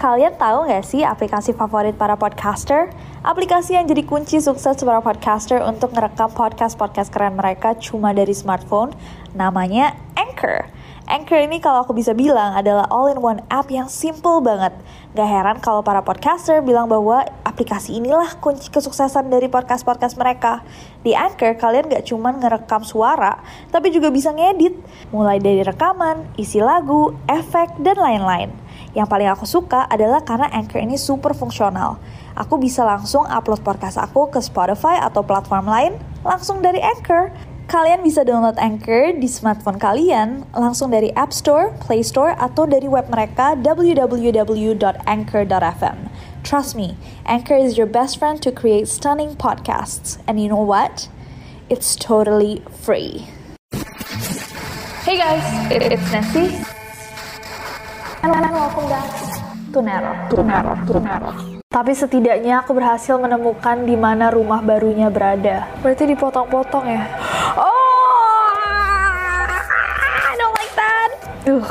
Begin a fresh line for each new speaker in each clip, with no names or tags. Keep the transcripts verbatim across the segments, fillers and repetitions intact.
Kalian tahu nggak sih aplikasi favorit para podcaster? Aplikasi yang jadi kunci sukses para podcaster untuk ngerekam podcast-podcast keren mereka cuma dari smartphone, namanya Anchor. Anchor ini kalau aku bisa bilang adalah all-in-one app yang simple banget. Gak heran kalau para podcaster bilang bahwa aplikasi inilah kunci kesuksesan dari podcast-podcast mereka. Di Anchor, kalian gak cuma ngerekam suara, tapi juga bisa ngedit. Mulai dari rekaman, isi lagu, efek, dan lain-lain. Yang paling aku suka adalah karena Anchor ini super fungsional. Aku bisa langsung upload podcast aku ke Spotify atau platform lain langsung dari Anchor. Kalian bisa download Anchor di smartphone kalian langsung dari App Store, Play Store, atau dari web mereka w w w dot anchor dot f m. Trust me, Anchor is your best friend to create stunning podcasts. And you know what? It's totally free. Hey guys, it's Nessie. And welcome back to Neror. To Neror, to Neror. Tapi setidaknya aku berhasil menemukan di mana rumah barunya berada. Berarti dipotong-potong ya? Oh, I don't like that. Uh.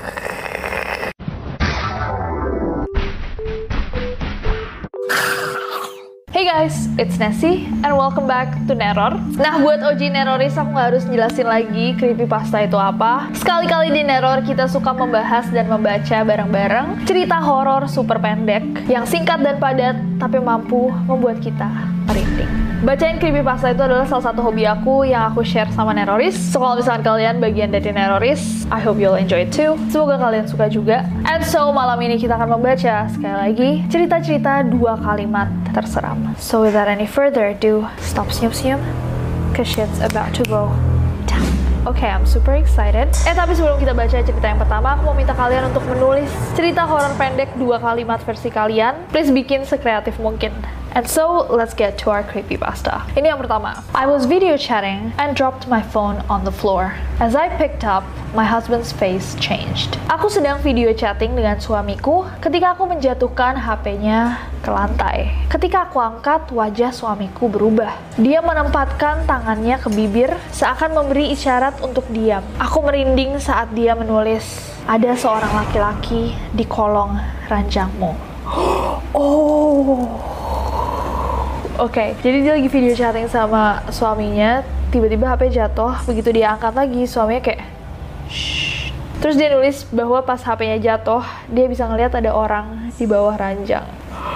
Hey guys, it's Nessie and welcome back to Neror. Nah, buat O G Neroris aku gak harus jelasin lagi creepypasta itu apa. Sekali-kali di Neror kita suka membahas dan membaca bareng-bareng cerita horor super pendek yang singkat dan padat tapi mampu membuat kita merinding. Bacain creepypasta itu adalah salah satu hobi aku yang aku share sama Neroris. So kalau misalkan kalian bagian dari Neroris, I hope you'll enjoy it too. Semoga kalian suka juga. And so malam ini kita akan membaca sekali lagi cerita-cerita dua kalimat terseram. So without any further ado, stop senyum-senyum, cause shit's about to go down. Oke, okay, I'm super excited. Eh tapi sebelum kita baca cerita yang pertama, aku mau minta kalian untuk menulis cerita horor pendek dua kalimat versi kalian. Please bikin sekreatif mungkin. And so, let's get to our creepypasta. Ini yang pertama. I was video chatting and dropped my phone on the floor. As I picked up, my husband's face changed. Aku sedang video chatting dengan suamiku ketika aku menjatuhkan H P-nya ke lantai. Ketika aku angkat, wajah suamiku berubah. Dia menempatkan tangannya ke bibir seakan memberi isyarat untuk diam. Aku merinding saat dia menulis, "Ada seorang laki-laki di kolong ranjangmu." Oh. Oke, okay, jadi dia lagi video chatting sama suaminya, tiba-tiba H P jatuh, begitu dia angkat lagi, suaminya kayak shh. Terus dia nulis bahwa pas H P-nya jatuh, dia bisa ngeliat ada orang di bawah ranjang.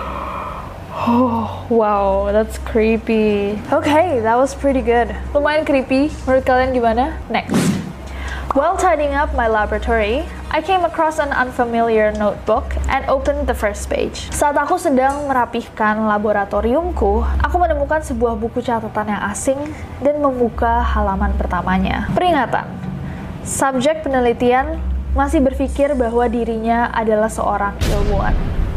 Oh, wow, that's creepy. Okay, that was pretty good. Lumayan creepy, menurut kalian gimana? Next. While tidying up my laboratory, I came across an unfamiliar notebook and opened the first page. Saat aku sedang merapihkan laboratoriumku, aku menemukan sebuah buku catatan yang asing dan membuka halaman pertamanya. Peringatan. Subjek penelitian masih berpikir bahwa dirinya adalah seorang ilmuwan.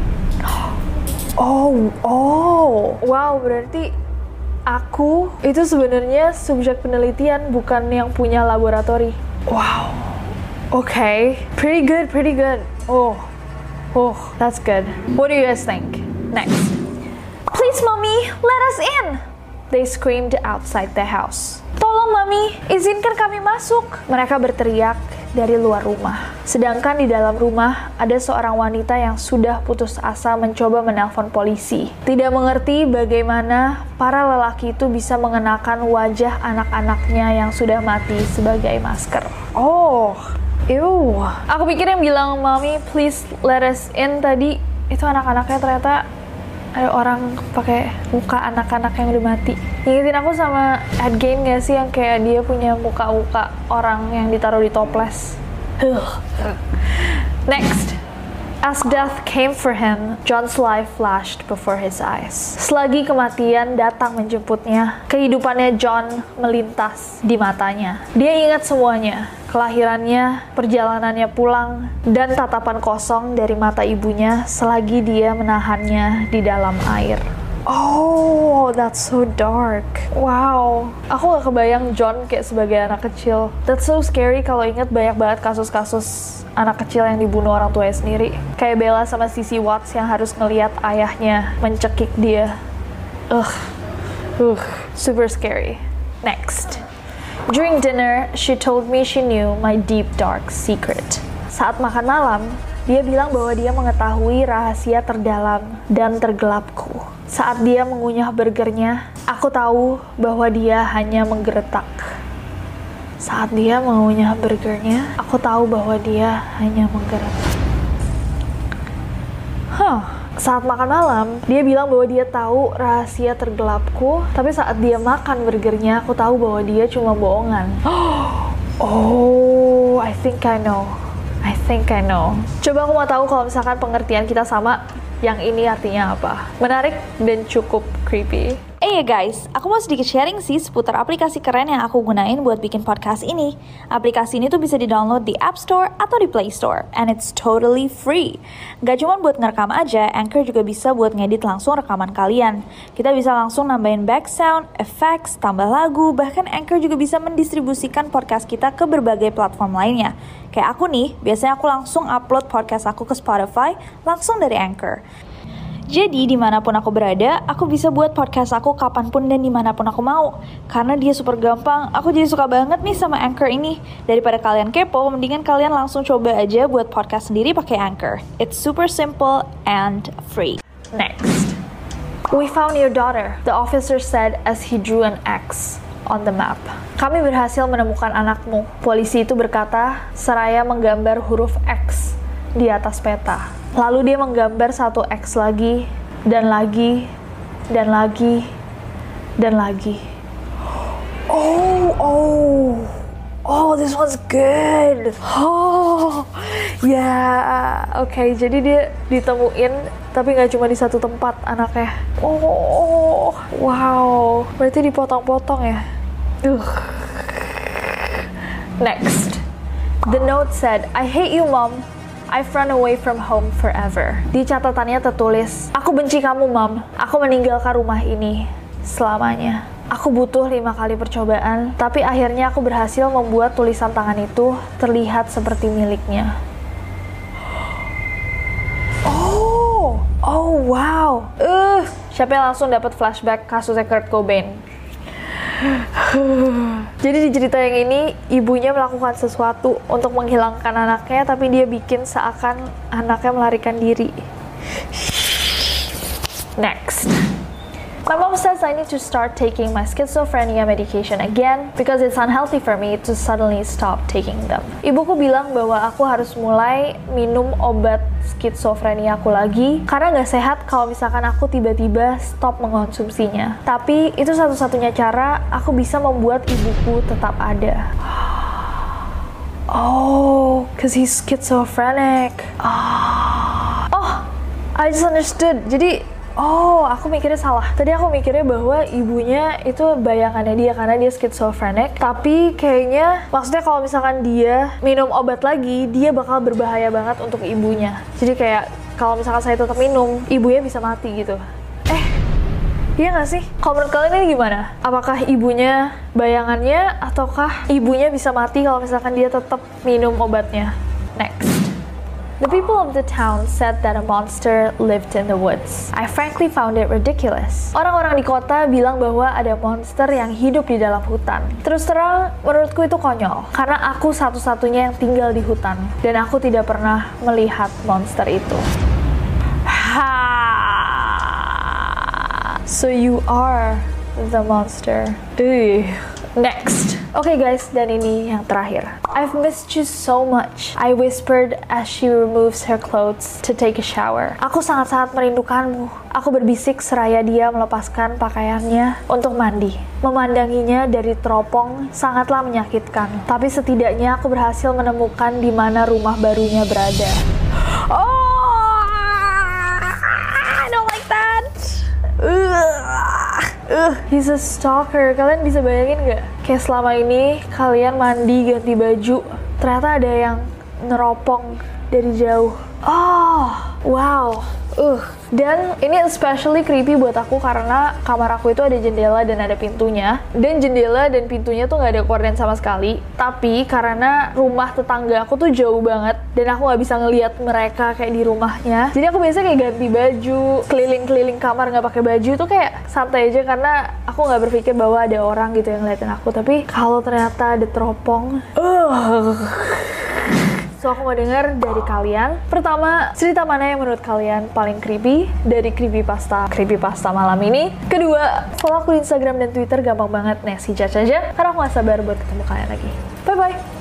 Oh, oh. Wow, berarti aku itu sebenarnya subjek penelitian, bukan yang punya laboratori. Wow. Okay, pretty good, pretty good. Oh, oh, that's good. What do you guys think? Next. Please, mommy, let us in. They screamed outside the house. Tolong, mami, izinkan kami masuk. Mereka berteriak dari luar rumah. Sedangkan di dalam rumah ada seorang wanita yang sudah putus asa mencoba menelpon polisi. Tidak mengerti bagaimana para lelaki itu bisa mengenakan wajah anak-anaknya yang sudah mati sebagai masker. Oh, ew. Aku pikir yang bilang, "Mami, please let us in" tadi, itu anak-anaknya ternyata ada orang pakai muka anak-anak yang udah mati. Ingetin aku sama Ed Gein gak sih yang kayak dia punya muka-muka orang yang ditaruh di toples. Next. As death came for him, John's life flashed before his eyes. Selagi kematian datang menjemputnya, kehidupannya John melintas di matanya. Dia ingat semuanya, kelahirannya, perjalanannya pulang, dan tatapan kosong dari mata ibunya selagi dia menahannya di dalam air. Oh, that's so dark. Wow, aku gak kebayang John kayak sebagai anak kecil. That's so scary kalau inget banyak banget kasus-kasus anak kecil yang dibunuh orang tuanya sendiri. Kayak Bella sama Sissy Watts yang harus ngelihat ayahnya mencekik dia. Ugh, ugh, super scary. Next. During dinner, she told me she knew my deep dark secret. Saat makan malam, Dia bilang bahwa dia mengetahui rahasia terdalam dan tergelapku. Saat dia mengunyah burgernya, aku tahu bahwa dia hanya menggeretak. Saat dia mengunyah burgernya, aku tahu bahwa dia hanya menggeretak. Huh. Saat makan malam, dia bilang bahwa dia tahu rahasia tergelapku, tapi saat dia makan burgernya, aku tahu bahwa dia cuma bohongan. Oh, I think I know. I think I know. Coba aku mau tahu kalau misalkan pengertian kita sama, yang ini artinya apa? Menarik dan cukup creepy. Eh ya guys, aku mau sedikit sharing sih seputar aplikasi keren yang aku gunain buat bikin podcast ini. Aplikasi ini tuh bisa di-download di App Store atau di Play Store, and it's totally free. Gak cuma buat ngerekam aja, Anchor juga bisa buat ngedit langsung rekaman kalian. Kita bisa langsung nambahin back sound, effects, tambah lagu, bahkan Anchor juga bisa mendistribusikan podcast kita ke berbagai platform lainnya. Kayak aku nih, biasanya aku langsung upload podcast aku ke Spotify langsung dari Anchor. Jadi dimanapun aku berada, aku bisa buat podcast aku kapanpun dan dimanapun aku mau. Karena dia super gampang, aku jadi suka banget nih sama Anchor ini. Daripada kalian kepo, mendingan kalian langsung coba aja buat podcast sendiri pakai Anchor. It's super simple and free. Next. We found your daughter, the officer said as he drew an X on the map. Kami berhasil menemukan anakmu, polisi itu berkata seraya menggambar huruf X di atas peta. Lalu dia menggambar satu X lagi, dan lagi, dan lagi, dan lagi. Oh, oh, oh, this one's good. Oh, ya, yeah. Oke, okay, jadi dia ditemuin, tapi nggak cuma di satu tempat anaknya. Oh, wow, berarti dipotong-potong ya. Uh. Next, the note said, I hate you, Mom. I've run away from home forever. Di catatannya tertulis, aku benci kamu, Mom. Aku meninggalkan rumah ini selamanya. Aku butuh lima kali percobaan, tapi akhirnya aku berhasil membuat tulisan tangan itu terlihat seperti miliknya. Oh, oh wow. Uh, siapa yang langsung dapat flashback kasusnya Kurt Cobain? Jadi di cerita yang ini, ibunya melakukan sesuatu untuk menghilangkan anaknya, tapi dia bikin seakan anaknya melarikan diri. Next. My mom says I need to start taking my schizophrenia medication again because it's unhealthy for me to suddenly stop taking them. Ibuku bilang bahwa aku harus mulai minum obat skizofrenia aku lagi karena nggak sehat kalau misalkan aku tiba-tiba stop mengkonsumsinya. Tapi itu satu-satunya cara aku bisa membuat ibuku tetap ada. Oh, cause he's schizophrenic. Oh, oh I just understood. Jadi oh, aku mikirnya salah. Tadi aku mikirnya bahwa ibunya itu bayangannya dia karena dia schizophrenic. Tapi kayaknya, maksudnya kalau misalkan dia minum obat lagi, dia bakal berbahaya banget untuk ibunya. Jadi kayak, kalau misalkan saya tetap minum, ibunya bisa mati gitu. Eh, iya nggak sih? Kalau menurut kalian ini gimana? Apakah ibunya bayangannya, ataukah ibunya bisa mati kalau misalkan dia tetap minum obatnya? Next. The people of the town said that a monster lived in the woods. I frankly found it ridiculous. Orang-orang di kota bilang bahwa ada monster yang hidup di dalam hutan. Terus terang, menurutku itu konyol. Karena aku satu-satunya yang tinggal di hutan. Dan aku tidak pernah melihat monster itu. Ha! So you are the monster. Ugh. Next. Oke okay guys, dan ini yang terakhir. I've missed you so much, I whispered as she removes her clothes to take a shower. Aku sangat-sangat merindukanmu. Aku berbisik seraya dia melepaskan pakaiannya untuk mandi. Memandanginya dari teropong sangatlah menyakitkan. Tapi setidaknya aku berhasil menemukan di mana rumah barunya berada. Oh, I don't like that. Uh, he's a stalker. Kalian bisa bayangin gak? Kayak selama ini kalian mandi ganti baju, ternyata ada yang neropong dari jauh. Oh, wow. Uh, dan ini especially creepy buat aku karena kamar aku itu ada jendela dan ada pintunya. Dan jendela dan pintunya tuh nggak ada korden sama sekali. Tapi karena rumah tetangga aku tuh jauh banget dan aku nggak bisa ngelihat mereka kayak di rumahnya. Jadi aku biasanya kayak ganti baju, keliling-keliling kamar nggak pakai baju tuh kayak santai aja karena aku nggak berpikir bahwa ada orang gitu yang ngeliatin aku. Tapi kalau ternyata ada teropong, uh, So aku mau denger dari kalian. Pertama, cerita mana yang menurut kalian paling creepy dari creepypasta creepypasta malam ini. Kedua, follow aku di Instagram dan Twitter, gampang banget Nessie Judge aja, karena aku gak sabar buat ketemu kalian lagi. Bye bye.